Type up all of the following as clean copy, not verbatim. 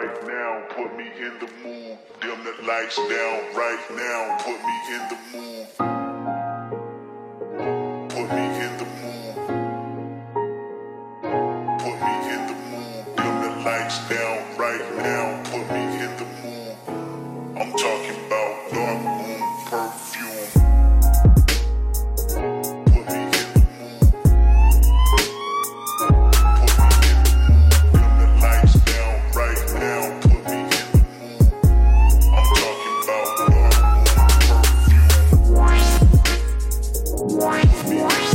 right now, put me in the mood. Dim the lights down right now, put me in the mood. Put me in the mood. Put me in the mood. Dim the lights down right now, put me in the mood. I'm talking about dark room perfume. Put me in the mood. Put me in the mood. Dim the lights down right now, put me in the mood. I'm talking about dark room perfume. Put me in the mood.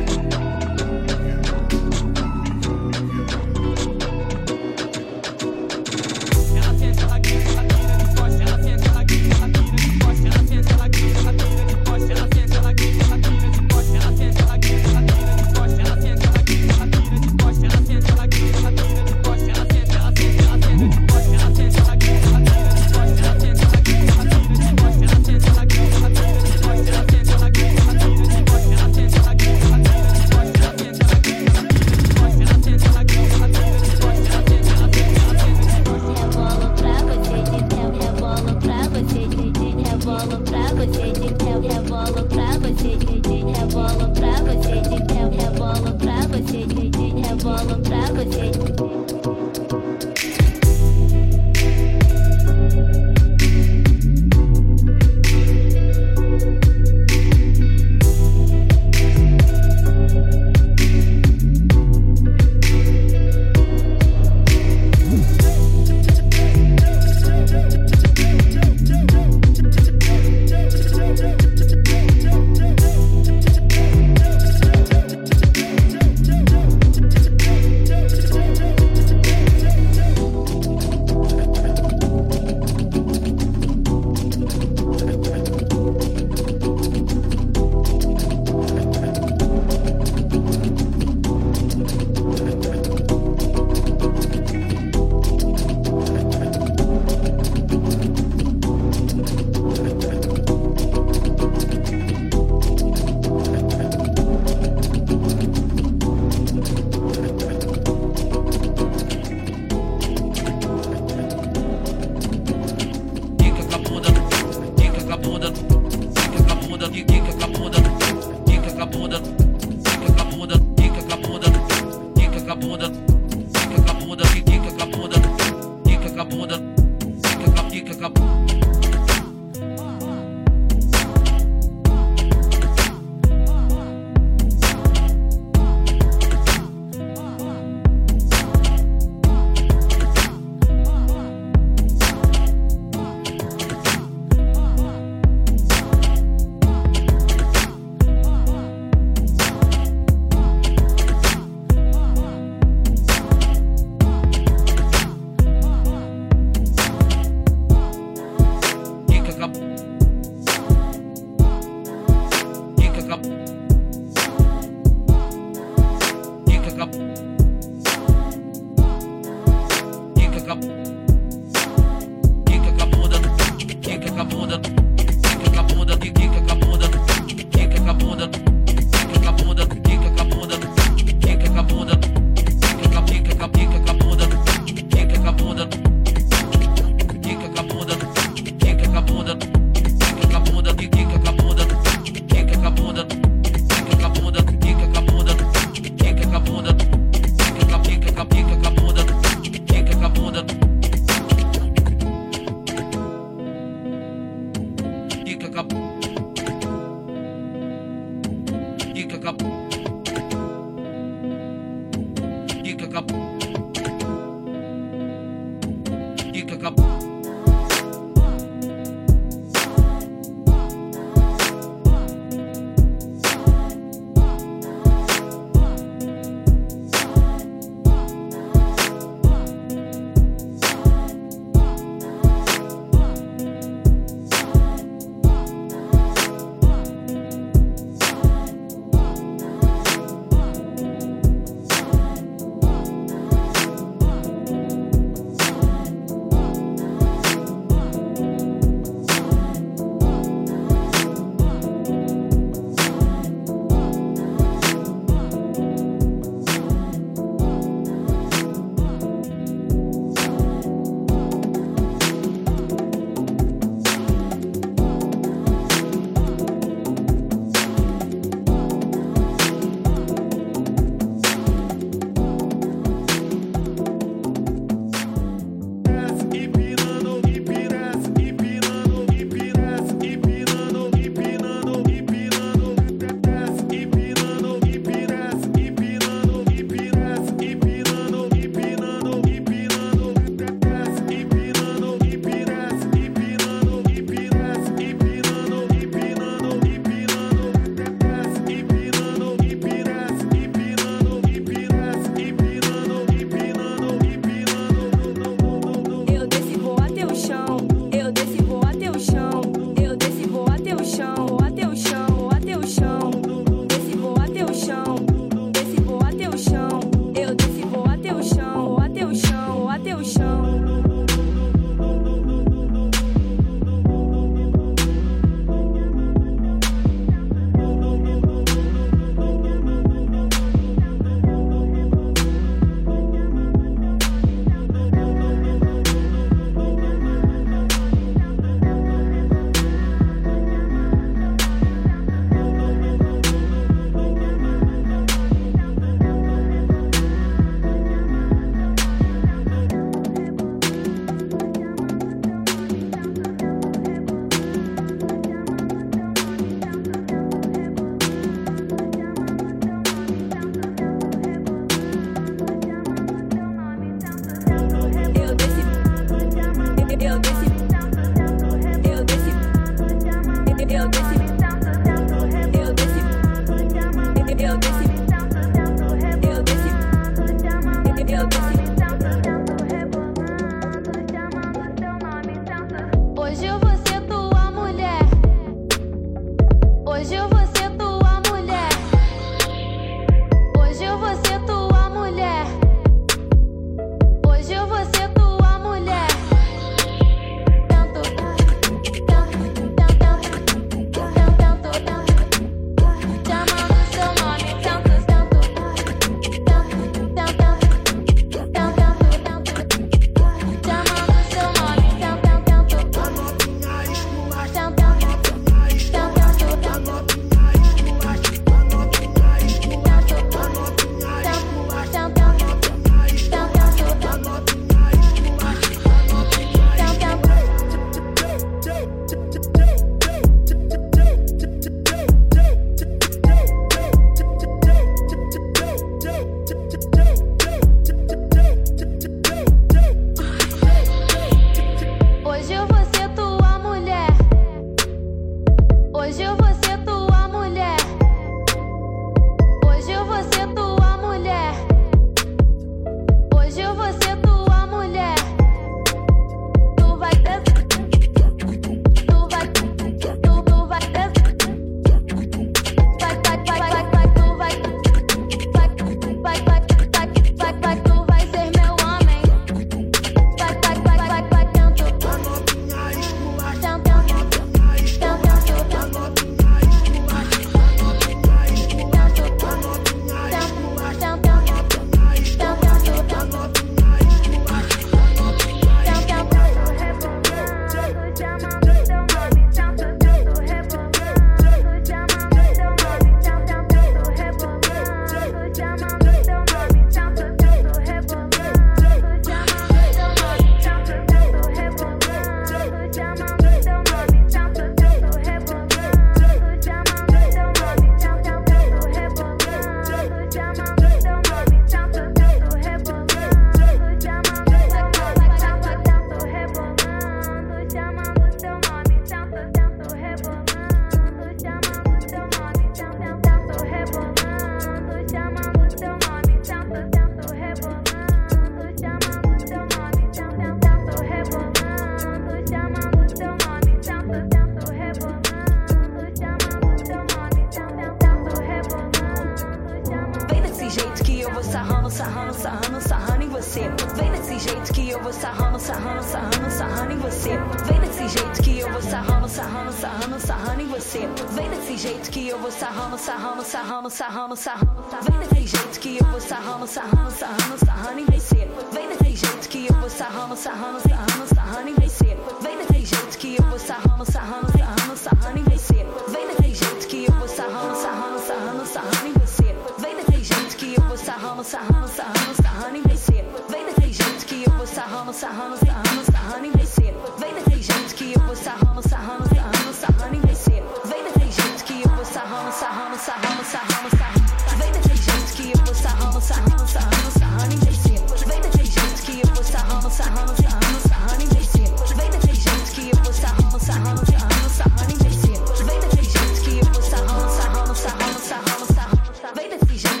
sarrando, sarrando, sarrando em você. Vem desse jeito que eu vou sarrando, sarrando, sarrando, sarrando em você. Vem desse jeito que eu vou sarrando, sarrando, sarrando, sarrando em você. Vem desse jeito que eu vou sarrando, sarrando, sarrando, sarrando, sarrando. Vem desse jeito que eu vou sarrando, sarrando, sarrando, sarrando em você. Vem desse jeito que eu vou sarrando, sarrando, sarrando, sarrando em você. Vem desse jeito que eu vou sarrando, sarrando, sarrando, sarrando em você. Vem desse jeito que eu vou sarrando, sarrando, sarrando, sarrando em você. Vem desse jeito que eu vou sarrando, sarrando, sarrando, sarrando em você. Vem desse jeito que eu vou sarrando, sarrando, sarrando, sarrando em você. Vem desse jeito que eu vou sarrando, sarrando, sarrando, sarrando em você. Vem desse jeito que eu vou sarrando, sarrando, sarrando, sarrando, sarrando. Vem desse jeito que eu vou sarrando, sarrando, sarrando, sarrando em você. Vem desse jeito que eu vou sarrando, sarrando, sarrando, sarrando em você. Vem desse jeito que eu vou sarrando, sarrando, sarrando, sarrando em você. Vem desse jeito que eu vou sarrando, sarrando, sarrando, sarrando, sarrando. Vem desse jeito.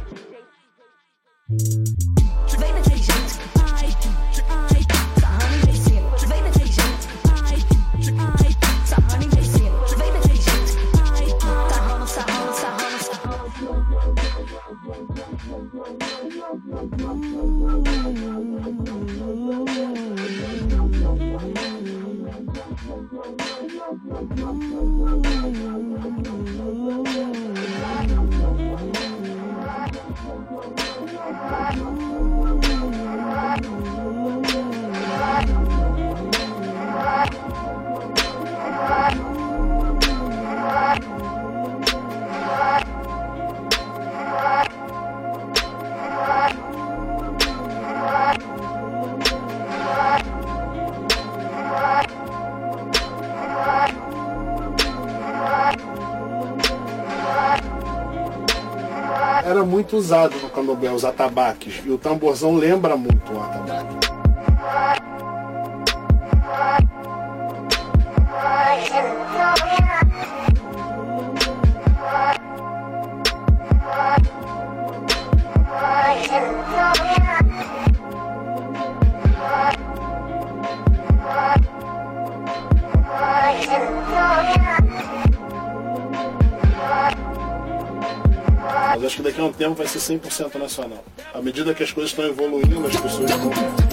Vem desse jeito. Ai, ai, sarrando em você. Vem desse jeito. Ai, ai, sarrando em você. Vem desse jeito. Ai, sarrando, sarrando, sarrando, Era muito usado no candomblé os atabaques, e o tamborzão lembra muito o atabaque. Mas acho que daqui a um tempo vai ser 100% nacional. À medida que as coisas estão evoluindo, as pessoas estão...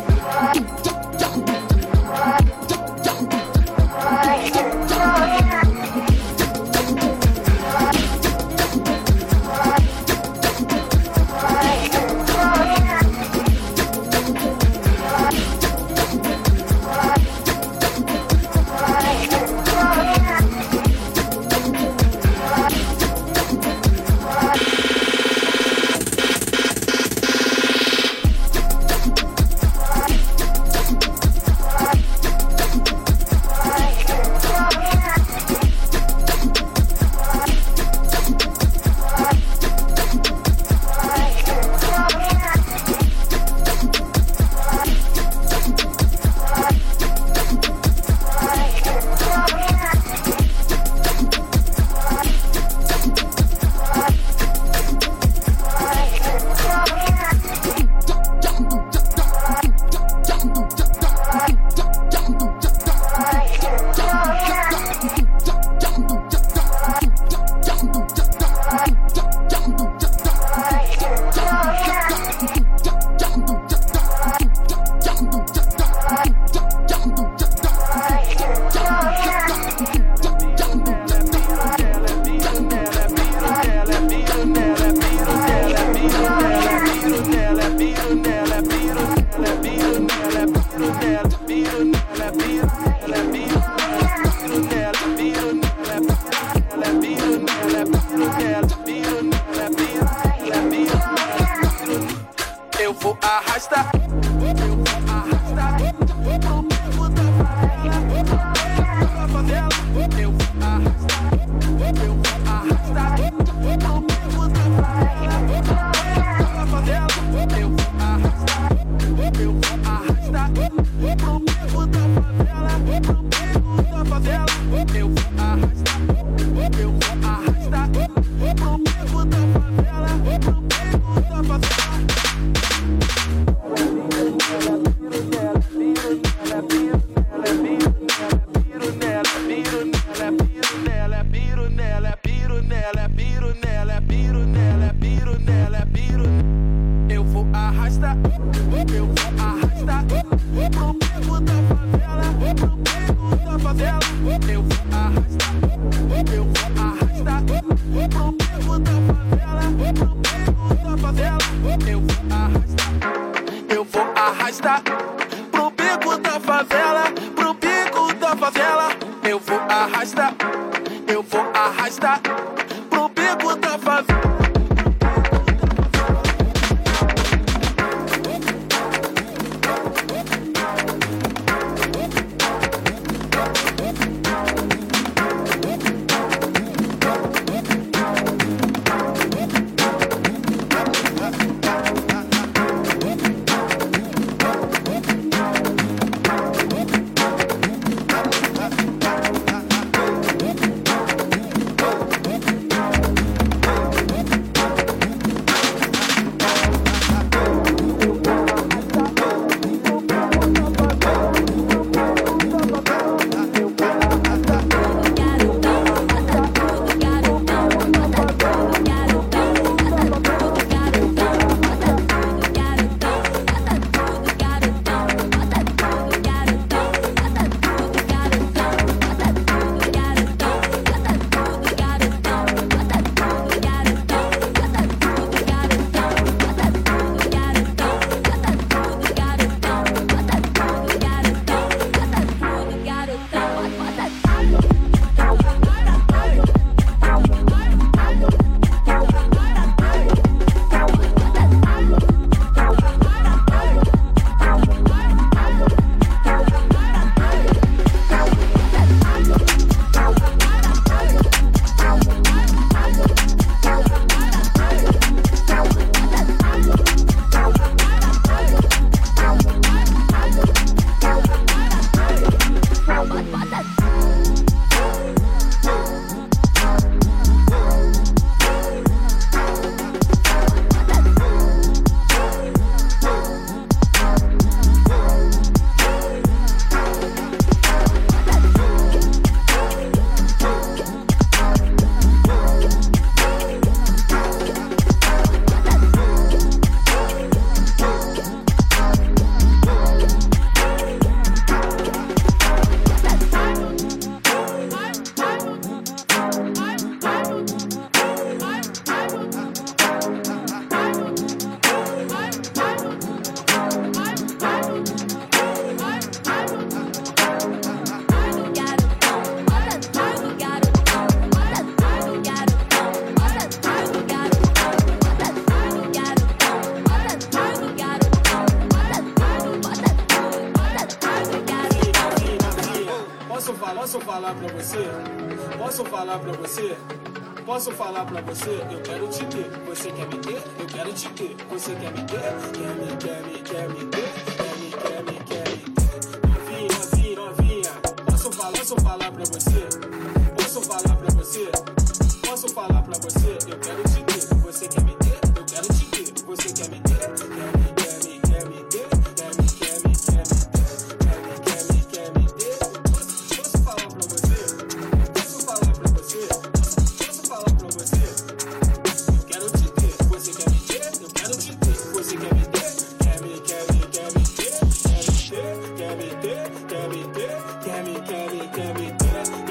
Eu vou arrastar. Eu vou arrastar. No beco da favela. Eu vou arrastar. Eu vou arrastar. No beco da favela. Eu vou arrastar. Eu vou arrastar. No beco da favela. No beco da favela. Eu vou arrastar. Eu vou arrastar. No beco da favela. No beco da favela. arrastar, eu vou arrastar pro beco da favela, pro beco da favela. Eu vou arrastar, eu vou arrastar pro beco da favela, pro beco da favela. Eu vou arrastar, eu vou arrastar pro beco da favela, pro beco da favela. Eu vou arrastar, eu vou arrastar pro beco da favela. Posso falar pra você? Eu quero te ter. Você quer me ter? Eu quero te ter. Você quer me ter? Quer me ter? Quer me ter? Novinha. Posso falar pra você? Posso falar pra você? Posso falar pra você? Eu quero te ter. Você quer me ter? Eu quero te ter. Você quer me ter? Quer me ter? Posso falar pra você? Posso falar pra você? Posso falar pra você? Eu quero te ter. Você quer me ter? Eu quero te ter. Você quer me ter? Quer me ter? Quer me ter? Quer me ter? Quer me ter? Quer me ter?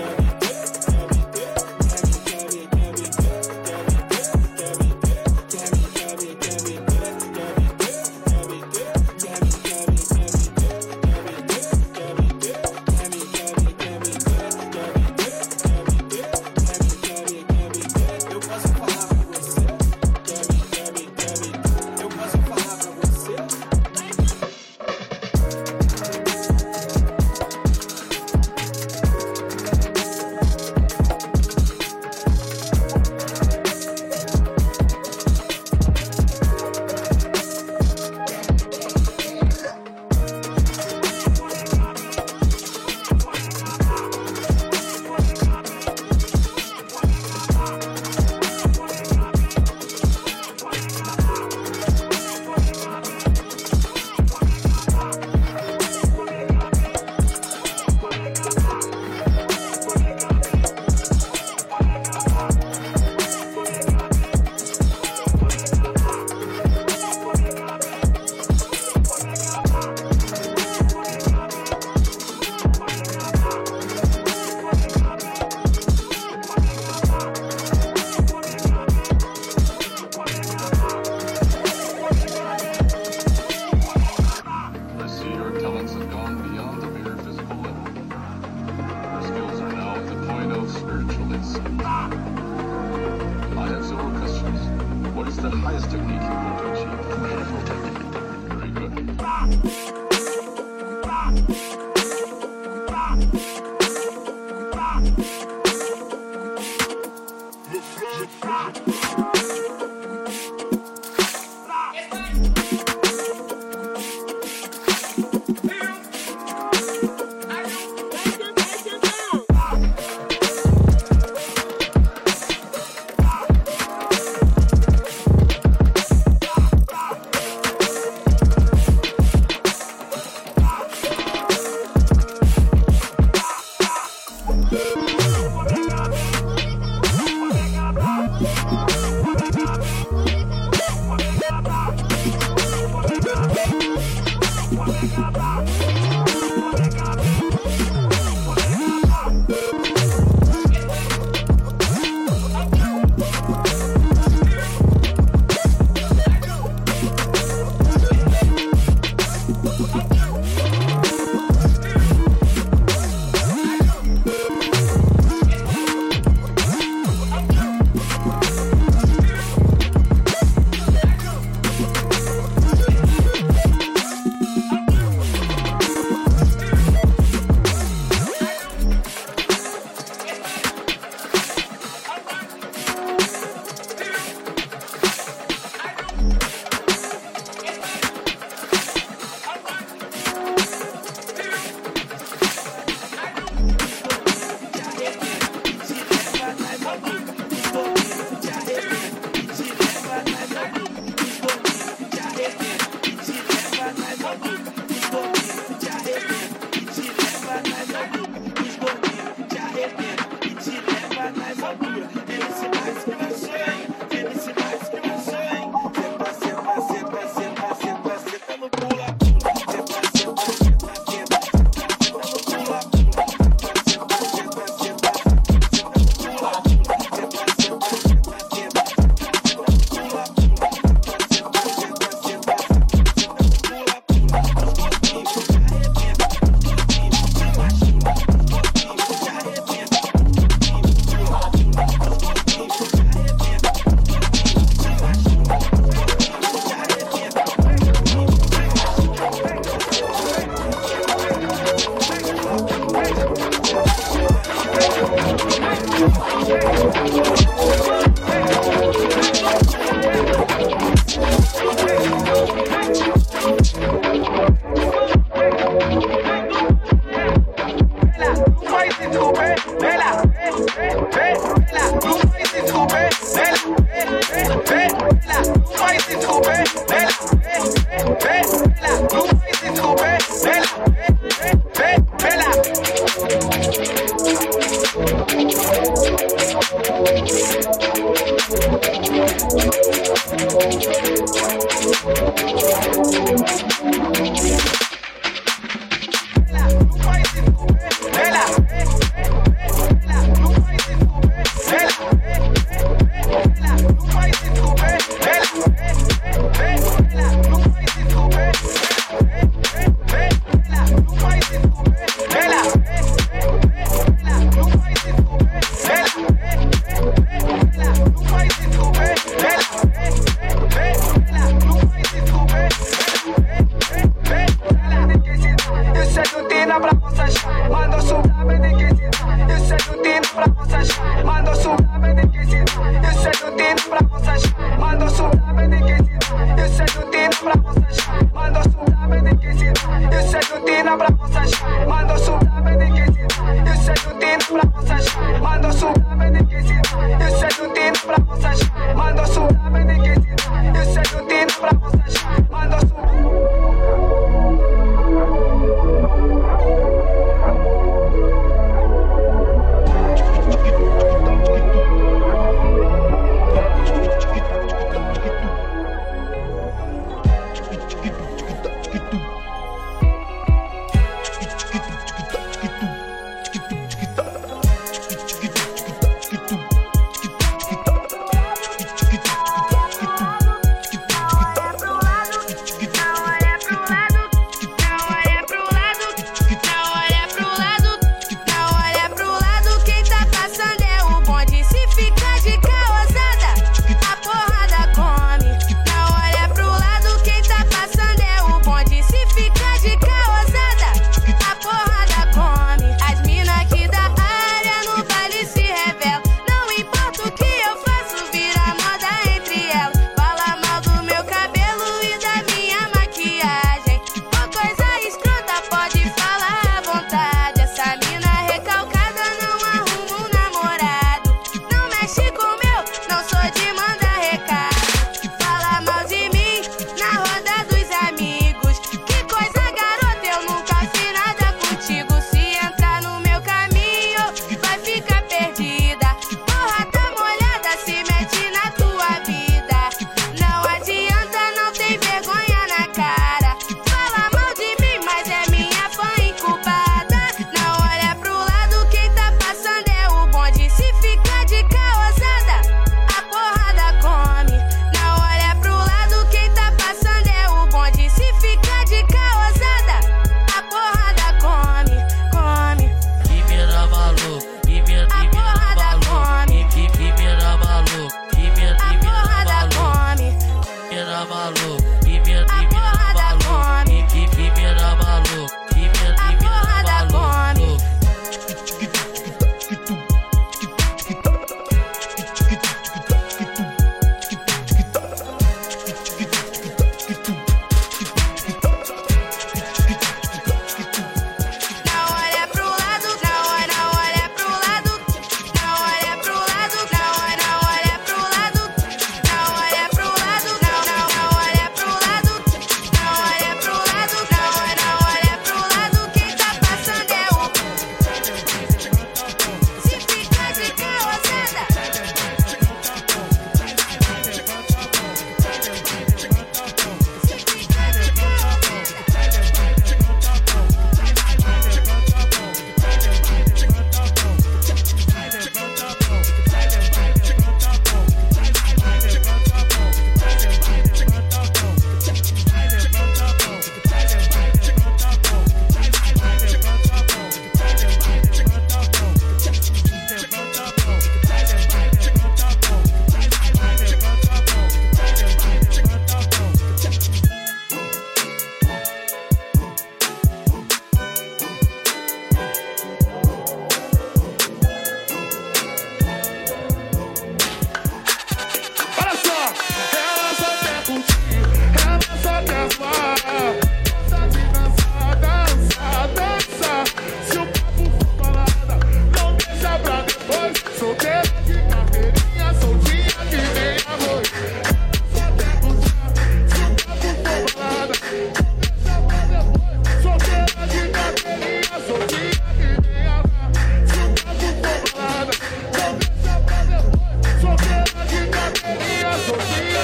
highest technique you're going to achieve. Very good.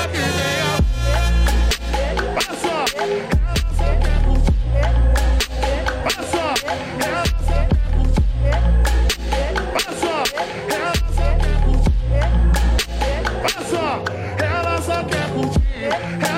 que venha. Olha só, ela só quer curtir. Olha só, ela só quer curtir. Olha só, ela só quer curtir. Olha só, ela só quer curtir.